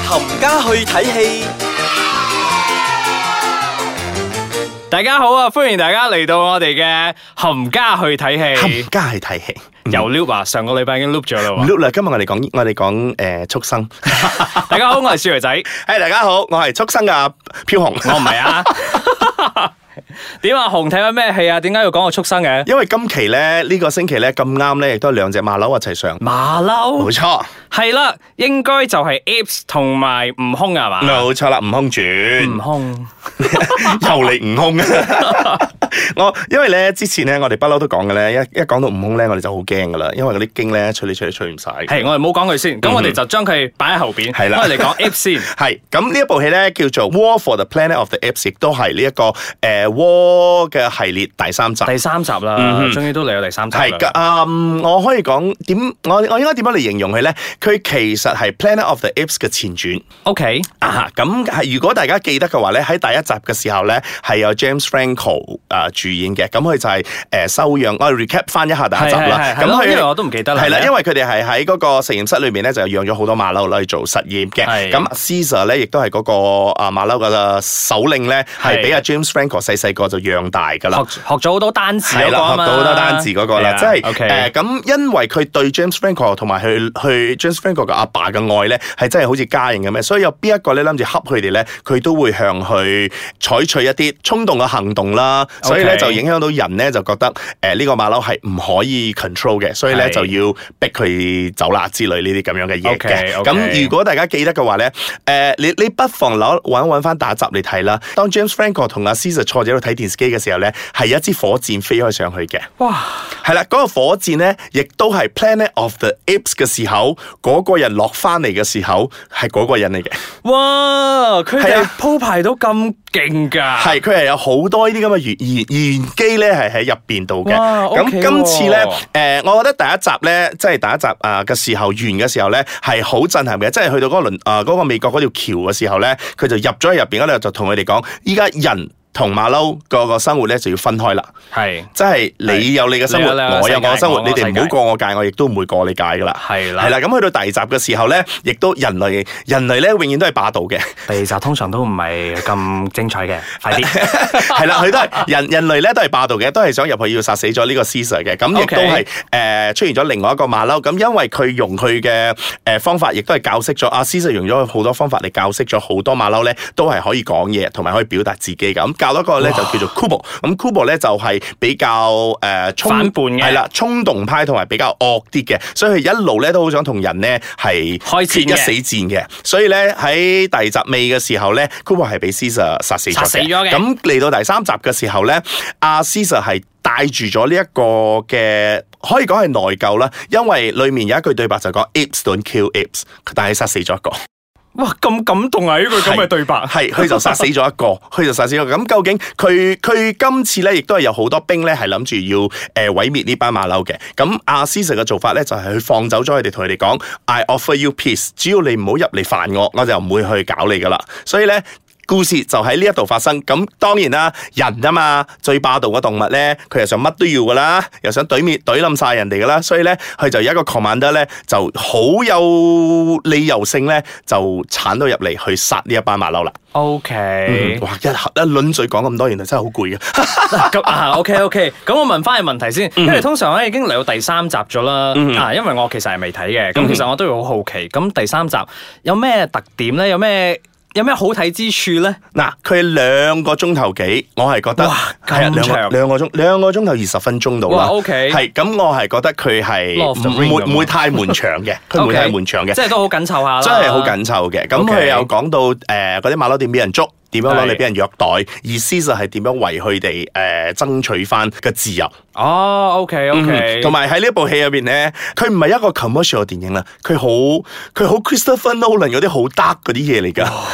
冚家去睇戲。 大家好啊！歡迎大家嚟到我哋嘅冚家去睇戲。 冚家去睇戲， 又 loop 啊！上個禮拜已經 loop 咗啦喎。 loop 啦！今日我哋講畜生。 大家好，我係少爺仔。 大家好，我係畜生嘅飄紅。 我唔係啊。點啊？紅睇緊咩戲啊？點解要講個畜生嘅？ 因為今期咧呢個星期咧咁啱咧，亦都係兩隻馬騮一齊上。 馬騮？ 冇錯。 係啦，應該就係 Apes 同埋悟空啊嘛。 冇錯啦，悟空傳。 悟空又嚟悟空。因為咧之前咧我哋不嬲都講嘅咧，一講到悟空咧，我哋就好驚噶啦，因為嗰啲經咧吹嚟吹去吹唔晒。 係，我哋冇講佢先，咁我哋就將佢擺喺後邊。 係啦， 我哋嚟講 Apes 先。 係，咁呢一部戲咧叫做《War for the Planet of the Apes》，亦都係呢一個War 嘅系列第三集。 第三集啦，終於都嚟到第三集啦。 係，我可以講我應該點樣嚟形容佢咧？佢其實係《Planet of the Apes》嘅前傳。 OK 咁係如果大家記得嘅話咧，喺第一集嘅時候咧係有 James Franco 主演嘅，咁佢就係收養。我 recap 翻一下第一集啦。咁佢因為我都唔記得啦。 係啦，因為佢哋係喺嗰個實驗室裏面咧，就養咗好多馬騮嚟做實驗嘅。咁 Caesar 咧，亦都係嗰個馬騮嘅首領咧，係俾阿 James Franco 細個就養大噶啦。 學咗好多單字嗰個啊嘛。 學到好多單字嗰個啦，即係咁，因為佢對 James Franco 同埋去 James Franco 嘅阿爸嘅愛咧，係真係好似家人咁嘅，所以有邊一個咧諗住恰佢哋咧，佢都會向佢採取一啲衝動嘅行動啦。所以咧就影響到人咧，就覺得呢個馬騮係唔可以 control 嘅，所以咧就要逼佢走啦之類呢啲咁樣嘅嘢嘅。咁如果大家記得嘅話咧，你不妨揾翻第一集嚟睇啦。當 James Franco 同阿 Caesar 坐喺度睇電視機嘅時候咧，係一支火箭飛開上去嘅。哇！係啦，嗰個火箭咧，亦都係 Planet of the Apes 嘅時候，嗰個人落翻嚟嘅時候，係嗰個人嚟嘅。 哇！佢哋鋪排到咁勁㗎。係， 佢係有好多呢啲咁嘅玄機咧，係喺入邊度嘅。咁今次咧，我覺得第一集咧，即係第一集嘅時候完嘅時候咧，係好震撼嘅。即係去到嗰個美國嗰條橋嘅時候咧，佢就入咗去入邊嗰度，就同佢哋講，依家人同馬騮個生活咧就要分開啦，係，即係你有你嘅生活，我有我嘅生活，你哋唔好過我界，我亦都唔會過你界噶啦，係啦，咁去到第二集嘅時候咧，亦都人類咧永遠都係霸道嘅， 第二集通常都唔係咁精彩嘅，快啲， 係啦，佢都係人類咧都係霸道嘅，都係想入去要殺死咗呢個 Caesar 嘅，咁亦都係出現咗另外一個馬騮，咁因為佢用佢嘅方法，亦都係教識咗阿 Caesar 用咗好多方法嚟教識咗好多馬騮咧，都係可以講嘢，同埋可以表達自己咁。教多個咧就叫做 Kubo， 咁 Kubo 咧就係比較反叛嘅，係啦， 衝動派同埋比較惡啲嘅，所以佢一路咧都好想同人咧係決一死戰嘅，所以咧喺第二集尾嘅時候咧 ，Kubo 係俾 Caesar 殺死咗嘅。咁嚟到第三集嘅時候咧，阿 Caesar 係帶住咗呢一個嘅，可以講係內疚啦，因為裡面有一句對白就講 Apes don't kill apes， 但係殺死咗一個。 哇，咁感動啊！呢句咁嘅對白， 係佢就殺死咗一個，咁究竟佢今次咧，亦都係有好多兵咧，係諗住要毀滅呢班馬騮嘅。咁阿 Caesar 嘅做法咧，就係去放走咗佢哋，同佢哋講 I offer you peace， 只要你唔好入嚟煩我，我就唔會去搞你噶啦。所以咧，故事就喺呢一度發生。咁當然啦，人啊嘛，最霸道嘅動物咧，佢又想乜都要噶啦，又想懟冧晒人哋噶啦，所以咧，佢就有一個 commander 咧，就好有理由性咧，就鏟到入嚟去殺呢一班馬騮啦。 OK， 哇，一輪嘴講咁多，原來真係好攰嘅。 OK， 咁我問翻個問題先，因為通常咧已經嚟到第三集咗啦，因為我其實係未睇嘅，咁其實我都會好好奇，咁第三集有咩特點咧？有咩好睇之處咧？ 嗱，佢2個鐘頭幾，我係覺得係2個鐘頭20分鐘到啦。 OK， 係咁，我係覺得佢係唔會太悶場嘅，佢唔會太悶場嘅， 即係都好緊湊下啦。 真係好緊湊嘅。咁佢又講到嗰啲馬騮點俾人捉，點樣攞嚟俾人虐待，而 Caesar 係點樣為佢哋爭取翻嘅自由。 哦，OK，同埋喺呢一部戲入邊咧，佢唔係一個 commercial 嘅電影啦，佢好 Christopher Nolan 嗰啲好 dark 嗰啲嘢嚟噶。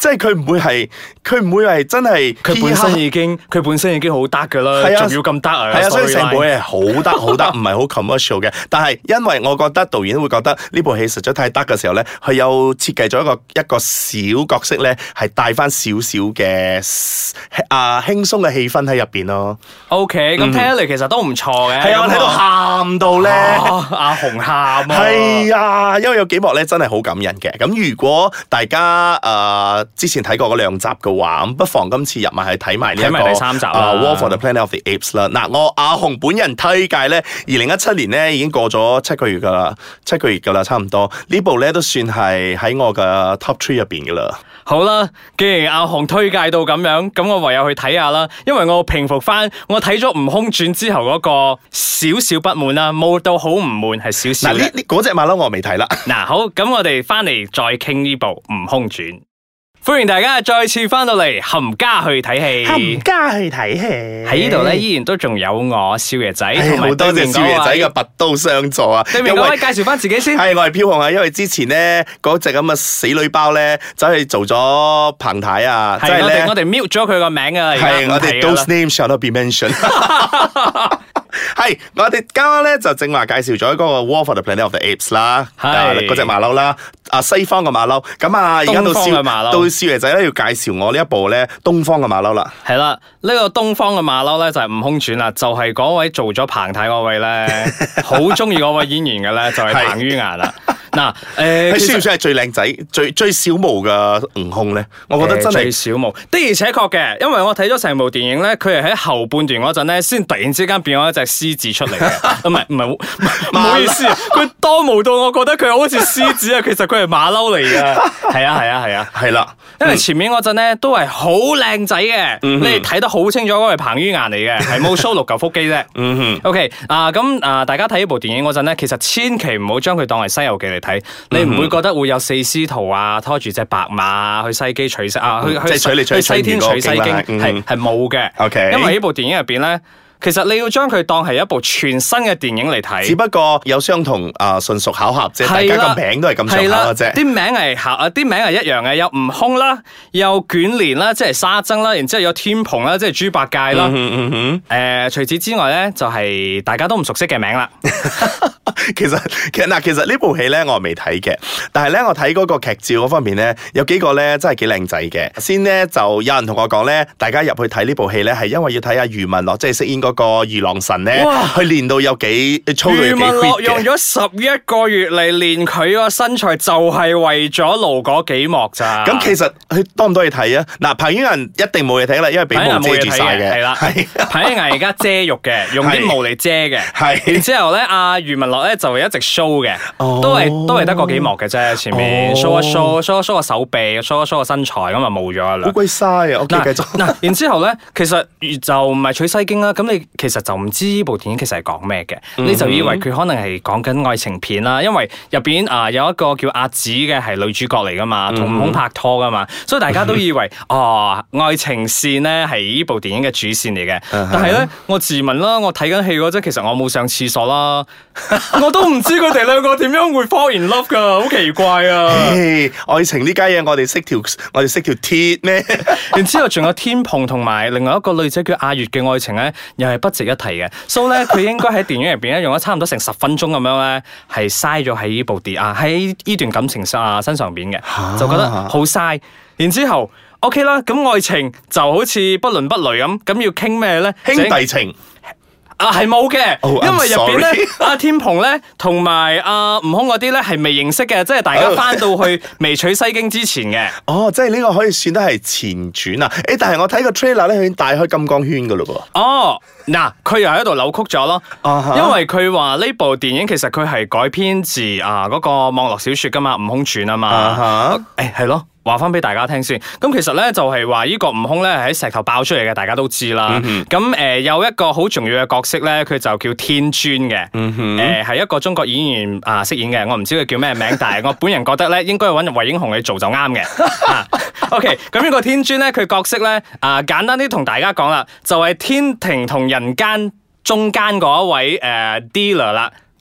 即係佢唔會係真係佢本身已經好得噶啦，仲要咁得啊！ 係啊，所以成部戲係好得，唔係好 commercial 嘅。但係因為我覺得導演會覺得呢部戲實在太得嘅時候咧，佢有設計咗一個小角色咧，係帶翻少少嘅輕鬆嘅氣氛喺入邊咯。 OK， 咁聽起嚟其實都唔錯嘅。 係啊，我睇到喊到咧， 阿紅喊啊！ 係啊，因為有幾幕咧真係好感人嘅。咁如果大家之前睇過嗰2集嘅話，咁不妨今次入埋去睇埋呢一個第3集 War for the Planet of the Apes 啦。嗱，我阿紅本人推介咧，2017年咧已經過咗7個月噶啦，差唔多。呢部咧都算係喺我嘅 Top 3入邊噶啦。 好啦，既然阿紅推介到咁樣，咁我唯有去睇下啦。因為我平復翻，我睇咗《悟空傳》之後嗰個少少不滿啦，冇到好唔悶，係少少。 嗱，嗰隻馬騮我未睇啦。 嗱，好，咁我哋翻嚟再傾呢部《悟空傳》。歡迎大家再次翻到嚟冚家去睇戲， 冚家去睇戲喺呢度咧，依然都仲有我少爺仔，同埋好多謝少爺仔嘅拔刀相助啊！ 對面嗰位介紹翻自己先， 係我係飄紅啊，因為之前咧嗰隻咁嘅死女包咧，走去做咗彭太啊，即係咧我哋 mute 咗佢個名啊， 係我哋 those names shall not be mentioned。係，我哋啱啱咧就正話介紹咗嗰個 War for the Planet of the Apes 啦，嗰隻馬騮啦，西方嘅馬騮。咁而家到少爺仔咧要介紹我呢一部咧東方嘅馬騮啦。 係啦，呢個東方嘅馬騮咧就係悟空傳啦，就係嗰位做咗彭太嗰位咧，好中意嗰位演員嘅咧，就係彭于晏啦。嗱， 佢算唔算係最靚仔、最小毛嘅悟空咧？我覺得真係最小毛，的而且確嘅，因為我睇咗成部電影咧，佢係喺後半段嗰陣咧，先突然之間變咗一隻獅子出嚟嘅。唔好意思啊，佢多毛到我覺得佢好似獅子啊，其實佢係馬騮嚟噶。係啊， 係啦， 因為前面嗰陣咧都係好靚仔嘅，你哋睇得好清楚嗰個係彭于晏嚟嘅，係冇 show 6嚿腹肌啫。OK， 咁大家睇呢部電影嗰陣咧，其實千祈唔好將佢當係《西遊記》嚟睇，你唔會覺得會有4師徒啊拖住隻白馬去西機取西啊，去西天取西經，係冇嘅。 OK， 因為呢部電影入邊咧，其實你要將佢當係一部全新嘅電影嚟睇， 只不過有相同純屬巧合啫，大家個名都係咁上下嘅啫。 啲名係一樣嘅，有悟空啦，有捲簾啦，即係沙僧啦，然之後有天蓬啦，即係豬八戒啦。除此之外咧，就係大家都唔熟悉嘅名啦。 其實呢部戲咧我未睇嘅，但係咧我睇嗰個劇照嗰方面咧，有幾個咧真係幾靚仔嘅。先咧就有人同我講咧，大家入去睇呢部戲咧係因為要睇下余文樂即係飾演嗰個二郎神咧，佢練到有幾粗到有幾 fit 嘅。余文樂用咗 11個月嚟練佢個身材，就係為咗露嗰幾幕咋。 咁其實佢多唔多嘢睇啊？嗱，彭于晏一定冇嘢睇啦，因為俾毛遮住晒嘅。係啦， 彭于晏而家遮肉嘅，用啲毛嚟遮嘅。係，然之後咧，阿余文樂咧就一直 show 嘅，都係得嗰幾幕嘅啫。前面 show 一 show 個手臂，show 一 show 個身材，咁啊冇咗啦。 好鬼嘥啊！我繼續。 嗱，然之後咧，其實就唔係取西經啦。咁你其實就唔知呢部電影其實係講咩嘅，你就以為佢可能係講緊愛情片啦，因為入邊有一個叫阿紫嘅係女主角嚟噶嘛，同悟空拍拖噶嘛，所以大家都以為愛情線咧係呢部電影嘅主線嚟嘅。但係咧，我自問啦，我睇緊戲嗰陣，其實我冇上廁所啦，我都唔知佢哋兩個點樣會 fall in love 噶，好奇怪啊！ 愛情呢家嘢，我哋識條鐵咩？ 然之後仲有天蓬同埋另外一個女仔叫阿月嘅愛情咧，又係不值一提嘅。所以咧，佢應該喺電影入邊咧用咗差唔多成10分鐘咁樣咧，係嘥咗喺呢部喺呢段感情身上邊嘅，就覺得好嘥。然之後 OK 啦，咁愛情就好似不倫不類咁要傾咩咧？ 兄弟情。 係冇嘅，因為入邊咧，阿天蓬咧同埋阿悟空嗰啲咧係未認識嘅，即係大家翻到去未取西經之前嘅。 即係呢個可以算得係前傳啊！但係我睇個 trailer 咧，佢已經大開金剛圈噶咯噃。 嗱，佢又喺度扭曲咗咯，因為佢話呢部電影其實佢係改編自嗰個網絡小說噶嘛，《悟空傳》啊嘛。係咯。話翻俾大家聽先，咁其實咧就係話呢個悟空咧係喺石頭爆出嚟嘅，大家都知啦。咁有一個好重要嘅角色咧，佢就叫天尊嘅，係一個中國演員飾演嘅，我唔知佢叫咩名，但係我本人覺得咧應該揾韋英雄去做就啱嘅。OK， 咁呢個天尊咧，佢角色咧簡單啲同大家講啦，就係天庭同人間中間嗰一位dealer 啦。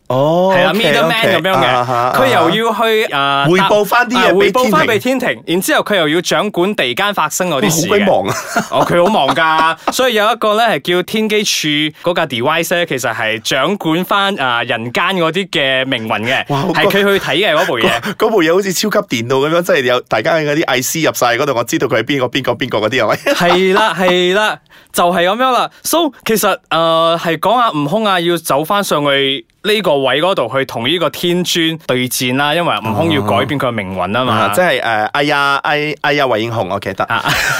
哦， 係啦 middleman 咁樣嘅，佢又要去匯報翻啲嘢， 匯報翻俾天庭，然之後佢又要掌管地間發生嗰啲事嘅。 好鬼忙啊！ 哦，佢好忙噶，所以有一個咧係叫天機柱嗰架 device 咧，其實係掌管翻人間嗰啲嘅命運嘅，係佢去睇嘅嗰部嘢。 嗰部嘢好似超級電腦咁樣，即係有大家嗰啲 IC 入晒嗰度，我知道佢係邊個嗰啲係咪？ 係啦，就係咁樣啦。So 其實係講阿悟空要走翻上去呢個位嗰度去同呢個天尊對戰啦，因為悟空要改變佢嘅命運啊嘛。 即係哎呀韋英雄，我記得。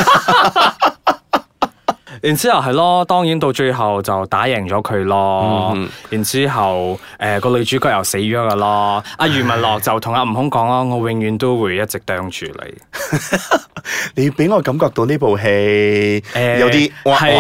然之後係咯，當然到最後就打贏咗佢咯。然之後個女主角又死咗噶咯。阿余文樂就同阿悟空講咯，我永遠都會一直盯住你。 你俾我感覺到呢部戲有啲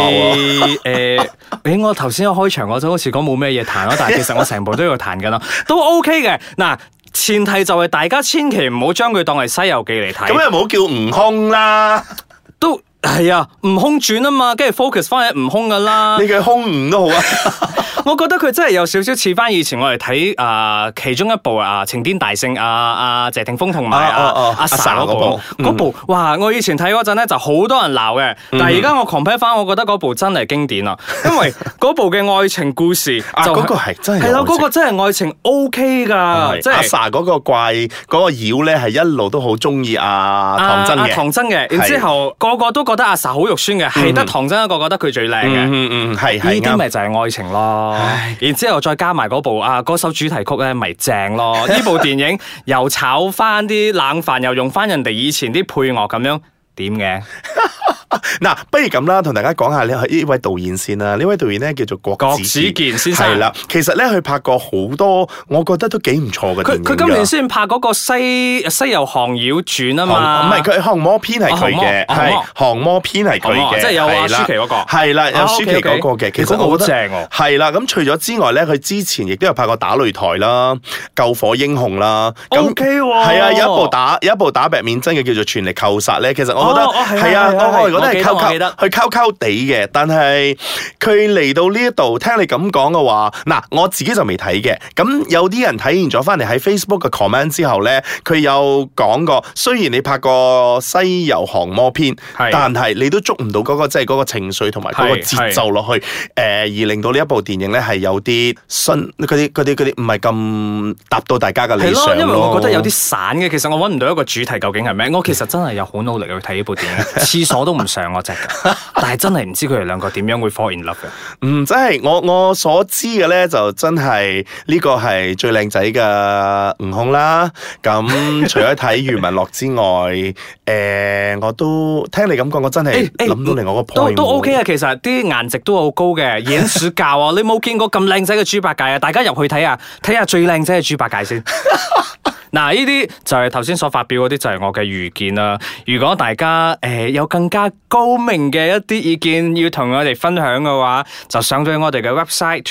我頭先開場嗰陣好似講冇咩嘢彈咯，但係其實我成部都要彈噶啦，都 OK 嘅。嗱，前提就係大家千祈唔好將佢當係《西遊記》嚟睇。 咁又唔好叫悟空啦， 都係啊，悟空傳啊嘛，跟住 focus 翻喺悟空噶啦。 你嘅空悟都好啊。 我覺得佢真係有少少似翻以前我哋睇其中一部情天大聖謝霆鋒同埋阿 sa 嗰部，哇！我以前睇嗰陣咧就好多人鬧嘅，但係而家我 compare 翻，我覺得嗰部真係經典啊，因為嗰部嘅愛情故事就嗰個係真係係咯，嗰個真係愛情 OK 噶，即係阿 sa 嗰個怪嗰個妖咧係一路都好中意唐僧嘅， 唐僧嘅，然之後個個都覺得阿 sa 好肉酸嘅，係得唐僧一個覺得佢最靚嘅， 係呢啲咪就係愛情咯。然之後再加埋嗰部嗰首主題曲咧，咪正咯！呢部電影又炒翻啲冷飯，又用翻人哋以前啲配樂咁樣，點嘅？ 嗱，不如咁啦，同大家講下呢位導演先啦。呢位導演咧叫做郭子健先生。係啦，其實咧佢拍過好多，我覺得都幾唔錯嘅電影。佢今年先拍嗰個西遊降妖傳啊嘛。 唔係，佢降魔篇係佢嘅，係降魔篇係佢嘅， 即係有阿舒淇嗰個。 係啦，有舒淇嗰個嘅。其實我覺得正喎。係啦，咁除咗之外咧，佢之前亦都有拍過打擂台啦、救火英雄啦。 OK 喎。 係啊，有一部打白面真嘅叫做全力扣殺咧。其實我覺得係啊，我覺得係溝地嘅，但係佢嚟到呢一度，聽你咁講嘅話，嗱，我自己就未睇嘅。咁有啲人睇完咗翻嚟喺 Facebook 嘅 comment 之後咧，佢有講過，雖然你拍過西遊降魔篇，但係你都捉唔到嗰個即係嗰個情緒同埋嗰個節奏落去，而令到呢一部電影咧係有啲嗰啲唔係咁達到大家嘅理想咯。 因為我覺得有啲散嘅，其實我揾唔到一個主題究竟係咩。我其實真係有好努力去睇呢部電影，廁所都唔上我隻㗎，但係真係唔知佢哋兩個點樣會 fall in love 嘅。 真係我所知嘅咧，就真係呢個係最靚仔嘅悟空啦。咁除咗睇余文樂之外，我都聽你咁講，我真係諗到另外一個 point 都 OK 啊。其實啲顏值都好高嘅，演暑教啊，你冇見過咁靚仔嘅豬八戒啊？大家入去睇下最靚仔嘅豬八戒先。嗱，呢啲就係頭先所發表嗰啲，就係我嘅預見啦。如果大家有更加高明嘅一啲意見要同我哋分享嘅話，就上到我哋嘅 website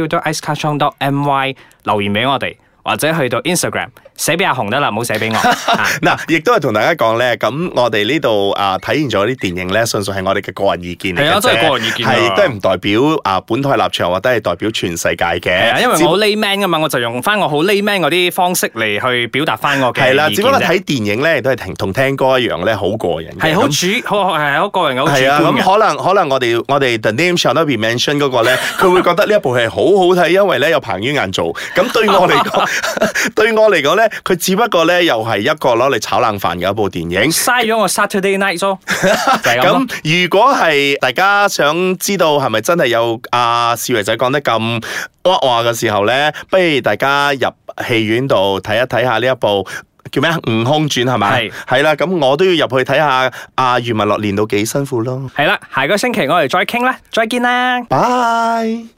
www.icekachong.my 留言俾我哋，或者去到 Instagram 寫俾阿紅得啦，唔好寫俾我。 嗱，亦都係同大家講咧，咁我哋呢度睇完咗啲電影咧，純粹係我哋嘅個人意見嚟嘅啫， 真係個人意見， 係亦都係唔代表本台立場，或者係代表全世界嘅。 因為我好 layman 噶嘛，我就用翻我好 layman 嗰啲方式嚟去表達翻我嘅意見。係啦， 只不過睇電影咧，都係同聽歌一樣咧，好過癮嘅。係好個人好主觀嘅。 咁可能我哋 The Name Shall Not Be Mentioned 嗰個咧，佢會覺得呢一部戲好好睇，因為咧有彭于晏做。咁對我嚟講咧，佢只不過咧又係一個攞嚟炒冷飯嘅一部電影， 嘥咗我 Saturday night 咯。 咁如果係大家想知道係咪真係有少爺仔講得咁話嘅時候咧，不如大家入戲院度睇一睇下呢一部叫咩悟空傳係咪？係啦，咁我都要入去睇下余文樂練到幾辛苦咯。 係啦，下個星期我哋再傾啦，再見啦， 拜。